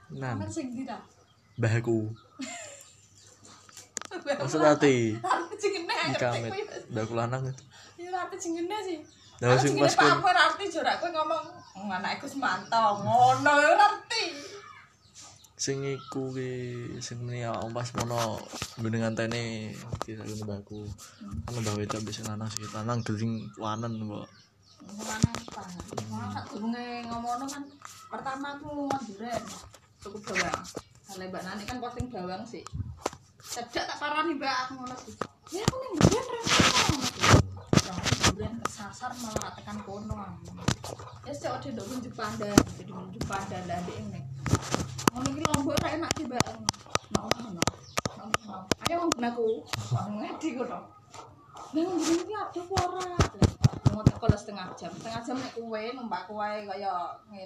Nan. Kan sing ndi ta? Mbahku. Maksud ati. Jenenge. Ikamet. Mbahku lanang. Ya arti jenenge sih. Lah sing pas kan aku arti jorak kowe ngomong anake Gus Manto ngono ya arti. Sing iku ki sing meni pas mono ngene ngantene iki sak mbahku. Kan mbah wedok wis lanang sing lanang geling wanen kok. Lanang pangan. Sak durunge ngomono kan pertama aku nduren cukup bawang. Lah Mbak Nani kan posting bawang sih. Cedak tak parani Mbak aku ngono sih. Ya aku ning nduren Duren kesasar malah tekan kono. Ya sik ode ndok nunjuk pandan, jadi nunjuk pandan ndak ndek nek. Ngono iki lombok ra enak sih, Mbak. Ngono. Ayo nggunaku. Ngedi kono. Nang ngene iki ada ora? Mau tak setengah jam nek kowe numpak wae kaya